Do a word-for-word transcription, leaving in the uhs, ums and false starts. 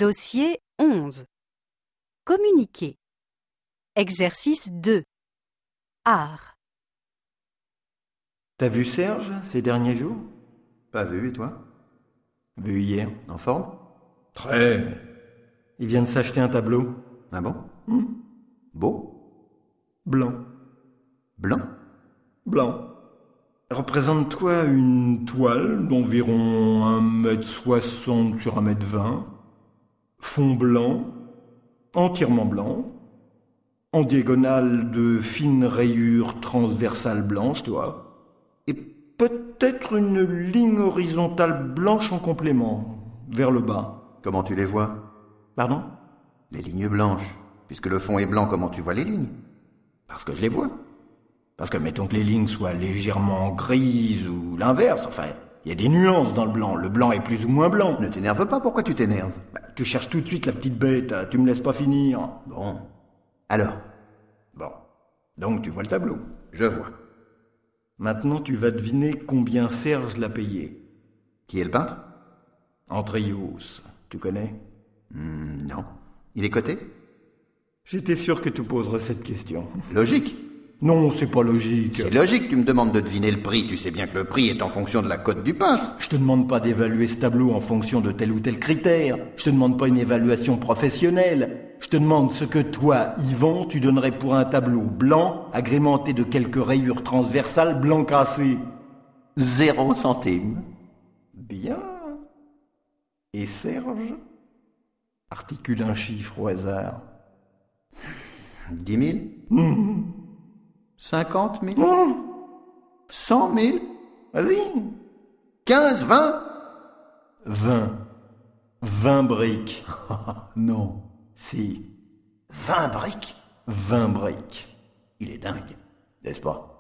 Dossier onze. Communiquer. Exercice deux. Art. T'as vu Serge ces derniers jours? Pas vu, et toi? Vu hier. En forme? Très. Il vient de s'acheter un tableau. Ah bon? Hmm. Beau? Blanc. Blanc? Blanc. Représente-toi une toile d'environ un mètre soixante sur un mètre vingt, fond blanc, entièrement blanc, en diagonale de fines rayures transversales blanches, toi, et peut-être une ligne horizontale blanche en complément, vers le bas. Comment tu les vois? Pardon? Les lignes blanches. Puisque le fond est blanc, comment tu vois les lignes? Parce que je les vois. Parce que mettons que les lignes soient légèrement grises ou l'inverse, enfin, il y a des nuances dans le blanc. Le blanc est plus ou moins blanc. Ne t'énerve pas, pourquoi tu t'énerves? Bah, tu cherches tout de suite la petite bête, tu me laisses pas finir. Bon. Alors? Bon. Donc tu vois le tableau. Je vois. Maintenant tu vas deviner combien Serge l'a payé. Qui est le peintre? Antrios, tu connais? Hmm, non. Il est coté? J'étais sûr que tu poserais cette question. Logique. Non, c'est pas logique. C'est logique, tu me demandes de deviner le prix. Tu sais bien que le prix est en fonction de la cote du peintre. Je te demande pas d'évaluer ce tableau en fonction de tel ou tel critère. Je te demande pas une évaluation professionnelle. Je te demande ce que toi, Yvan, tu donnerais pour un tableau blanc, agrémenté de quelques rayures transversales blanc cassé. Zéro centime. Bien. Et Serge? Articule un chiffre au hasard. Dix mille? Mmh. Cinquante mille? Mmh. Cent mille? Vas-y. Quinze, vingt? Vingt. Vingt briques. Non. Si. Vingt briques? Vingt briques. Il est dingue. N'est-ce pas?